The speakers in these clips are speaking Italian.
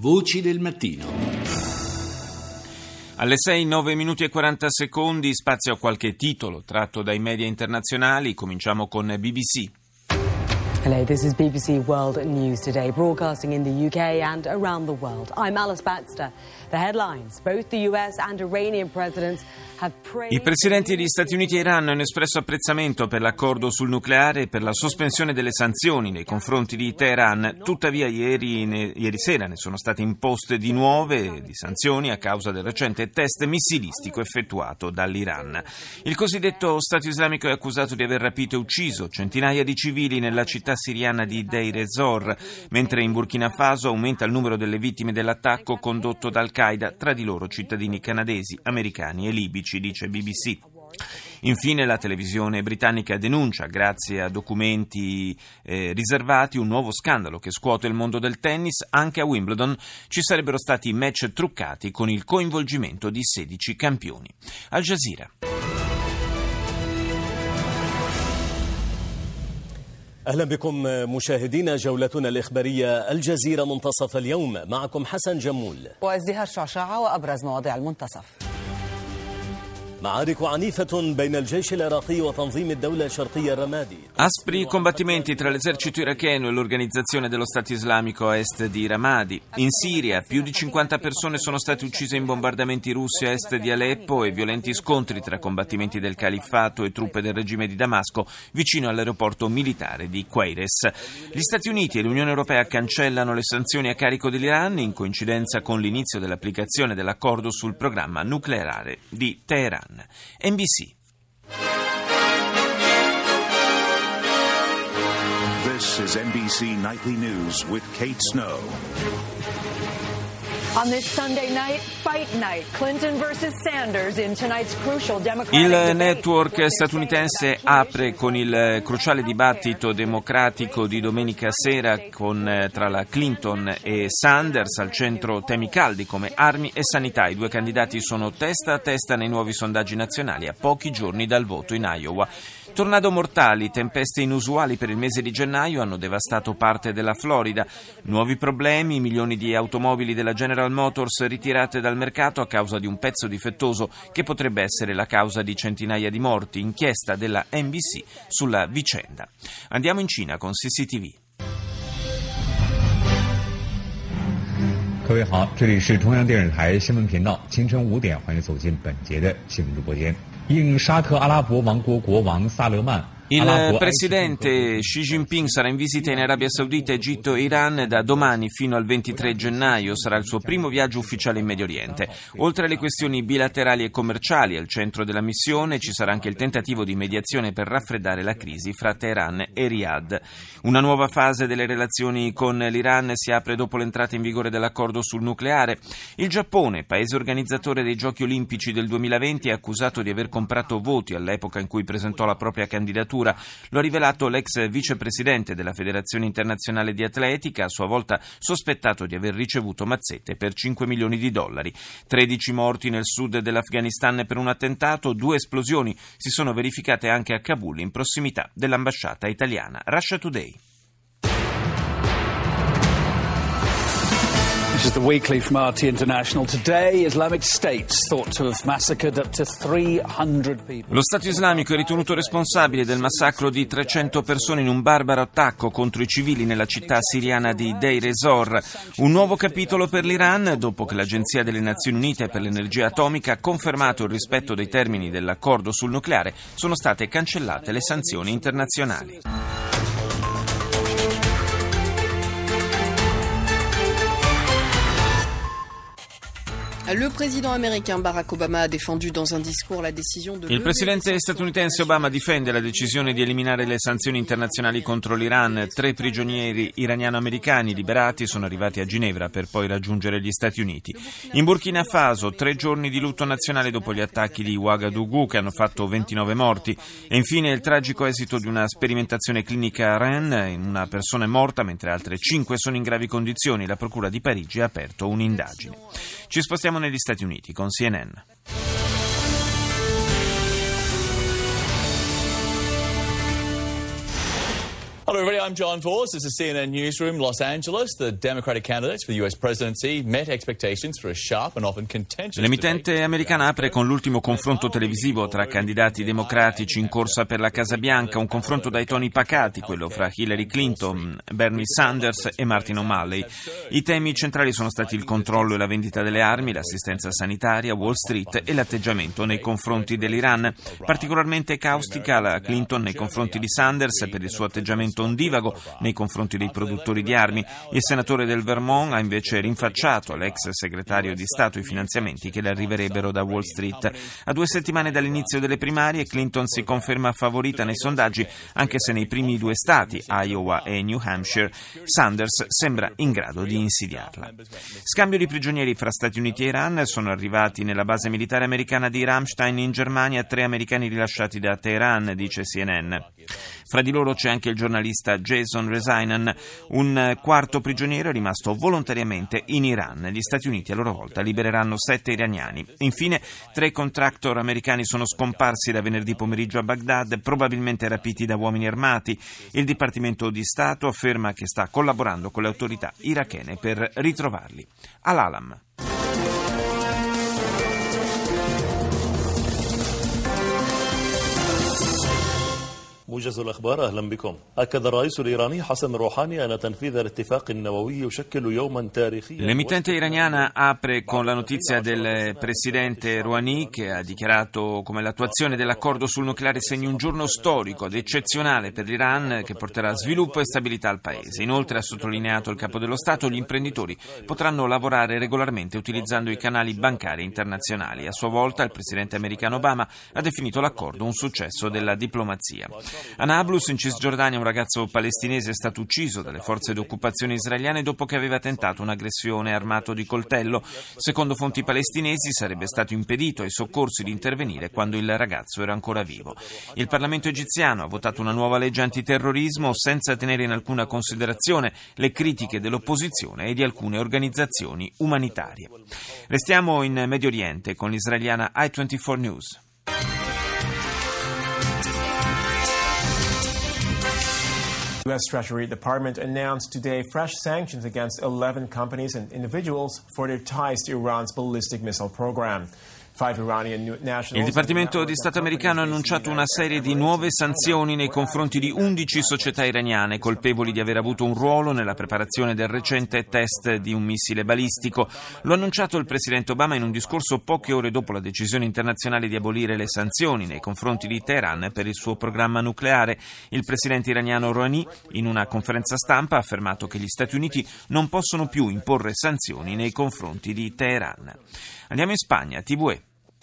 Voci del mattino. Alle 6, 9 minuti e 40 secondi, spazio a qualche titolo tratto dai media internazionali. Cominciamo con BBC. Hello, this is BBC World News Today, broadcasting in the UK and around the world. I'm Alice Baxter. The headlines: both the US and Iranian presidents have praised... I presidenti degli Stati Uniti e Iran hanno espresso apprezzamento per l'accordo sul nucleare e per la sospensione delle sanzioni nei confronti di Teheran. Tuttavia ieri sera ne sono state imposte di nuove di sanzioni a causa del recente test missilistico effettuato dall'Iran. Il cosiddetto Stato Islamico è accusato di aver rapito e ucciso centinaia di civili nella città siriana di Deir ez-Zor, mentre in Burkina Faso aumenta il numero delle vittime dell'attacco condotto da Al-Qaeda, tra di loro cittadini canadesi, americani e libici, dice BBC. Infine la televisione britannica denuncia, grazie a documenti riservati, un nuovo scandalo che scuote il mondo del tennis. Anche a Wimbledon ci sarebbero stati match truccati con il coinvolgimento di 16 campioni. Al Jazeera. أهلا بكم مشاهدينا، جولتنا الإخبارية الجزيرة منتصف اليوم، معكم حسن جمول وازدهار شعشاعة وأبرز مواضيع المنتصف. Aspri combattimenti tra l'esercito iracheno e l'organizzazione dello Stato Islamico a est di Ramadi. In Siria più di 50 persone sono state uccise in bombardamenti russi a est di Aleppo e violenti scontri tra combattimenti del califfato e truppe del regime di Damasco vicino all'aeroporto militare di Queires. Gli Stati Uniti e l'Unione Europea cancellano le sanzioni a carico dell'Iran in coincidenza con l'inizio dell'applicazione dell'accordo sul programma nucleare di Teheran. NBC. This is NBC Nightly News with Kate Snow. On this Sunday night, fight night, Clinton versus Sanders in tonight's crucial Democratic Il debate. network statunitense apre con il cruciale dibattito democratico di domenica sera tra la Clinton e Sanders, al centro temi caldi come armi e sanità. I due candidati sono testa a testa nei nuovi sondaggi nazionali a pochi giorni dal voto in Iowa. Tornado mortali, tempeste inusuali per il mese di gennaio hanno devastato parte della Florida. Nuovi problemi, milioni di automobili della General Motors ritirate dal mercato a causa di un pezzo difettoso che potrebbe essere la causa di centinaia di morti. Inchiesta della NBC sulla vicenda. Andiamo in Cina con CCTV. 各位好，这里是中央电视台新闻频道，清晨5点，欢迎走进本节的新闻直播间。应沙特阿拉伯王国国王萨勒曼 Il presidente Xi Jinping sarà in visita in Arabia Saudita, Egitto e Iran da domani fino al 23 gennaio. Sarà il suo primo viaggio ufficiale in Medio Oriente. Oltre alle questioni bilaterali e commerciali, al centro della missione ci sarà anche il tentativo di mediazione per raffreddare la crisi fra Teheran e Riyadh. Una nuova fase delle relazioni con l'Iran si apre dopo l'entrata in vigore dell'accordo sul nucleare. Il Giappone, paese organizzatore dei Giochi Olimpici del 2020, è accusato di aver comprato voti all'epoca in cui presentò la propria candidatura. Lo ha rivelato l'ex vicepresidente della Federazione Internazionale di Atletica, a sua volta sospettato di aver ricevuto mazzette per $5 milioni. 13 morti nel sud dell'Afghanistan per un attentato, 2 esplosioni si sono verificate anche a Kabul, in prossimità dell'ambasciata italiana. Russia Today. This is the weekly from RT International. Today, Islamic State thought to have massacred up to 300 people. Lo Stato Islamico è ritenuto responsabile del massacro di 300 persone in un barbaro attacco contro i civili nella città siriana di Deir ez-Zor. Un nuovo capitolo per l'Iran, dopo che l'Agenzia delle Nazioni Unite per l'Energia Atomica ha confermato il rispetto dei termini dell'accordo sul nucleare, sono state cancellate le sanzioni internazionali. Le président américain Barack Obama a défendu dans un discours la décision de... Il presidente statunitense Obama difende la decisione di eliminare le sanzioni internazionali contro l'Iran. 3 prigionieri iraniano-americani liberati sono arrivati a Ginevra per poi raggiungere gli Stati Uniti. In Burkina Faso 3 giorni di lutto nazionale dopo gli attacchi di Ouagadougou che hanno fatto 29 morti. E infine il tragico esito di una sperimentazione clinica a Rennes. Una persona è morta mentre altre 5 sono in gravi condizioni. La Procura di Parigi ha aperto un'indagine. Ci spostiamo negli Stati Uniti con CNN. Hello everybody, I'm John Vos. This is CNN Newsroom, Los Angeles. The Democratic candidates for the U.S. presidency met expectations for a sharp and often contentious L'emittente americana apre con l'ultimo confronto televisivo tra candidati democratici in corsa per la Casa Bianca, un confronto dai toni pacati, quello fra Hillary Clinton, Bernie Sanders e Martin O'Malley. I temi centrali sono stati il controllo e la vendita delle armi, l'assistenza sanitaria, Wall Street e l'atteggiamento nei confronti dell'Iran. Particolarmente caustica la Clinton nei confronti di Sanders per il suo atteggiamento ondivago nei confronti dei produttori di armi. Il senatore del Vermont ha invece rinfacciato all'ex segretario di Stato i finanziamenti che le arriverebbero da Wall Street. A 2 settimane dall'inizio delle primarie, Clinton si conferma favorita nei sondaggi, anche se nei primi 2 stati, Iowa e New Hampshire, Sanders sembra in grado di insidiarla. Scambio di prigionieri fra Stati Uniti e Iran. Sono arrivati nella base militare americana di Ramstein in Germania 3 americani rilasciati da Teheran, dice CNN. Fra di loro c'è anche il giornalista Jason Rezaian. Un quarto prigioniero è rimasto volontariamente in Iran. Gli Stati Uniti a loro volta libereranno 7 iraniani. Infine, 3 contractor americani sono scomparsi da venerdì pomeriggio a Baghdad, probabilmente rapiti da uomini armati. Il Dipartimento di Stato afferma che sta collaborando con le autorità irachene per ritrovarli. Al-Alam. موجز الأخبار أهلا بكم. أكد الرئيس الإيراني حسن روحاني أن تنفيذ الاتفاق النووي يشكل يوما تاريخيا. L'emittente iraniana apre con la notizia del presidente Rouhani, che ha dichiarato come l'attuazione dell'accordo sul nucleare segni un giorno storico ed eccezionale per l'Iran che porterà sviluppo e stabilità al paese. Inoltre, ha sottolineato il capo dello Stato, gli imprenditori potranno lavorare regolarmente utilizzando i canali bancari internazionali. A sua volta il presidente americano Obama ha definito l'accordo un successo della diplomazia. A Nablus, in Cisgiordania, un ragazzo palestinese è stato ucciso dalle forze d'occupazione israeliane dopo che aveva tentato un'aggressione armato di coltello. Secondo fonti palestinesi sarebbe stato impedito ai soccorsi di intervenire quando il ragazzo era ancora vivo. Il Parlamento egiziano ha votato una nuova legge antiterrorismo senza tenere in alcuna considerazione le critiche dell'opposizione e di alcune organizzazioni umanitarie. Restiamo in Medio Oriente con l'israeliana I24 News. The U.S. Treasury Department announced today fresh sanctions against 11 companies and individuals for their ties to Iran's ballistic missile program. Il Dipartimento di Stato americano ha annunciato una serie di nuove sanzioni nei confronti di 11 società iraniane colpevoli di aver avuto un ruolo nella preparazione del recente test di un missile balistico. Lo ha annunciato il presidente Obama in un discorso poche ore dopo la decisione internazionale di abolire le sanzioni nei confronti di Teheran per il suo programma nucleare. Il presidente iraniano Rouhani, in una conferenza stampa, ha affermato che gli Stati Uniti non possono più imporre sanzioni nei confronti di Teheran. Andiamo in Spagna, TVE.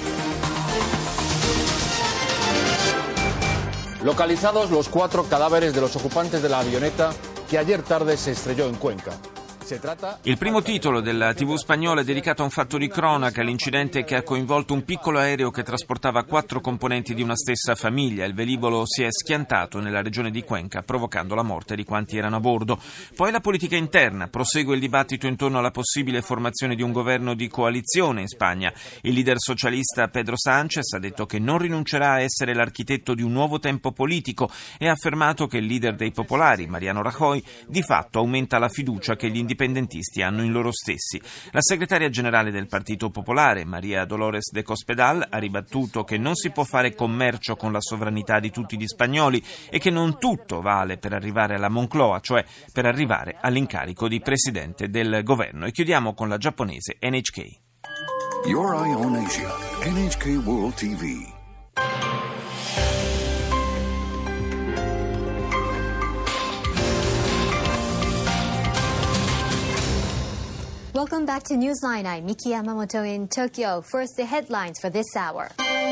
Localizados los 4 cadáveres de los ocupantes de la avioneta que ayer tarde se estrelló en Cuenca. Il primo titolo della TV spagnola è dedicato a un fatto di cronaca, l'incidente che ha coinvolto un piccolo aereo che trasportava 4 componenti di una stessa famiglia. Il velivolo si è schiantato nella regione di Cuenca, provocando la morte di quanti erano a bordo. Poi la politica interna, prosegue il dibattito intorno alla possibile formazione di un governo di coalizione in Spagna. Il leader socialista Pedro Sánchez ha detto che non rinuncerà a essere l'architetto di un nuovo tempo politico e ha affermato che il leader dei popolari, Mariano Rajoy, di fatto aumenta la fiducia che gli indipendentisti hanno in loro stessi. La segretaria generale del Partito Popolare, María Dolores de Cospedal, ha ribattuto che non si può fare commercio con la sovranità di tutti gli spagnoli e che non tutto vale per arrivare alla Moncloa, cioè per arrivare all'incarico di presidente del governo. E chiudiamo con la giapponese NHK. Your Eye on Asia, NHK World TV. Welcome back to Newsline. I'm Miki Yamamoto in Tokyo. First, the headlines for this hour.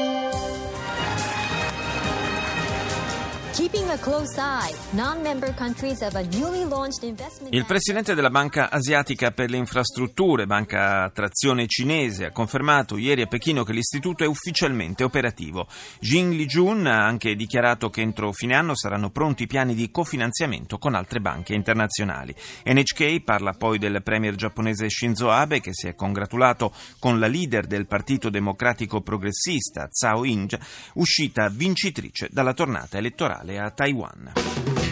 Keeping a close eye, non-member countries have a newly launched investment. Il presidente della Banca Asiatica per le Infrastrutture, banca a trazione cinese, ha confermato ieri a Pechino che l'istituto è ufficialmente operativo. Jin Li-jun ha anche dichiarato che entro fine anno saranno pronti piani di cofinanziamento con altre banche internazionali. NHK parla poi del premier giapponese Shinzo Abe, che si è congratulato con la leader del Partito Democratico Progressista, Tsai Ing-wen, uscita vincitrice dalla tornata elettorale a Taiwan.